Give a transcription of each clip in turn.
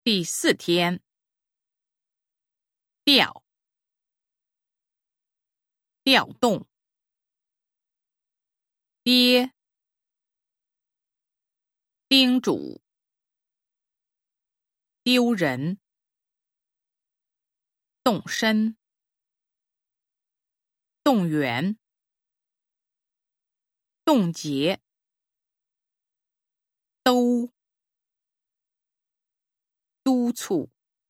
第4天，调，调动，跌，叮嘱，丢人，动身，动员，冻结，兜，督促，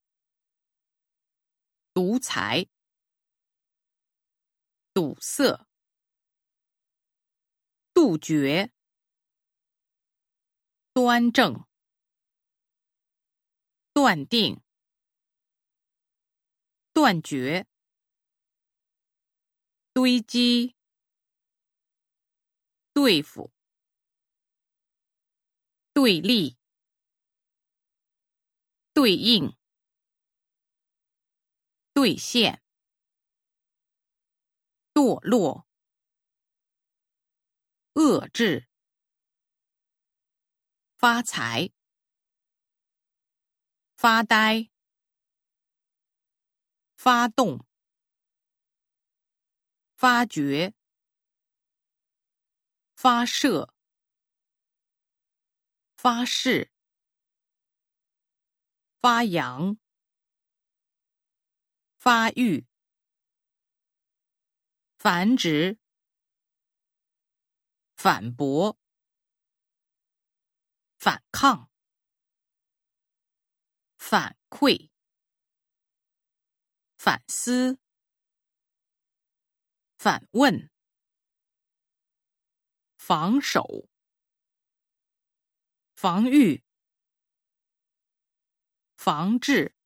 独裁，堵塞，杜绝，端正，断定，断绝，堆积，对付，对立，对应，兑现，堕落，遏制，发财，发呆，发动，发掘，发射，发誓，发扬，发育，繁殖，反驳，反抗，反馈，反思，反问，防守，防御，防治，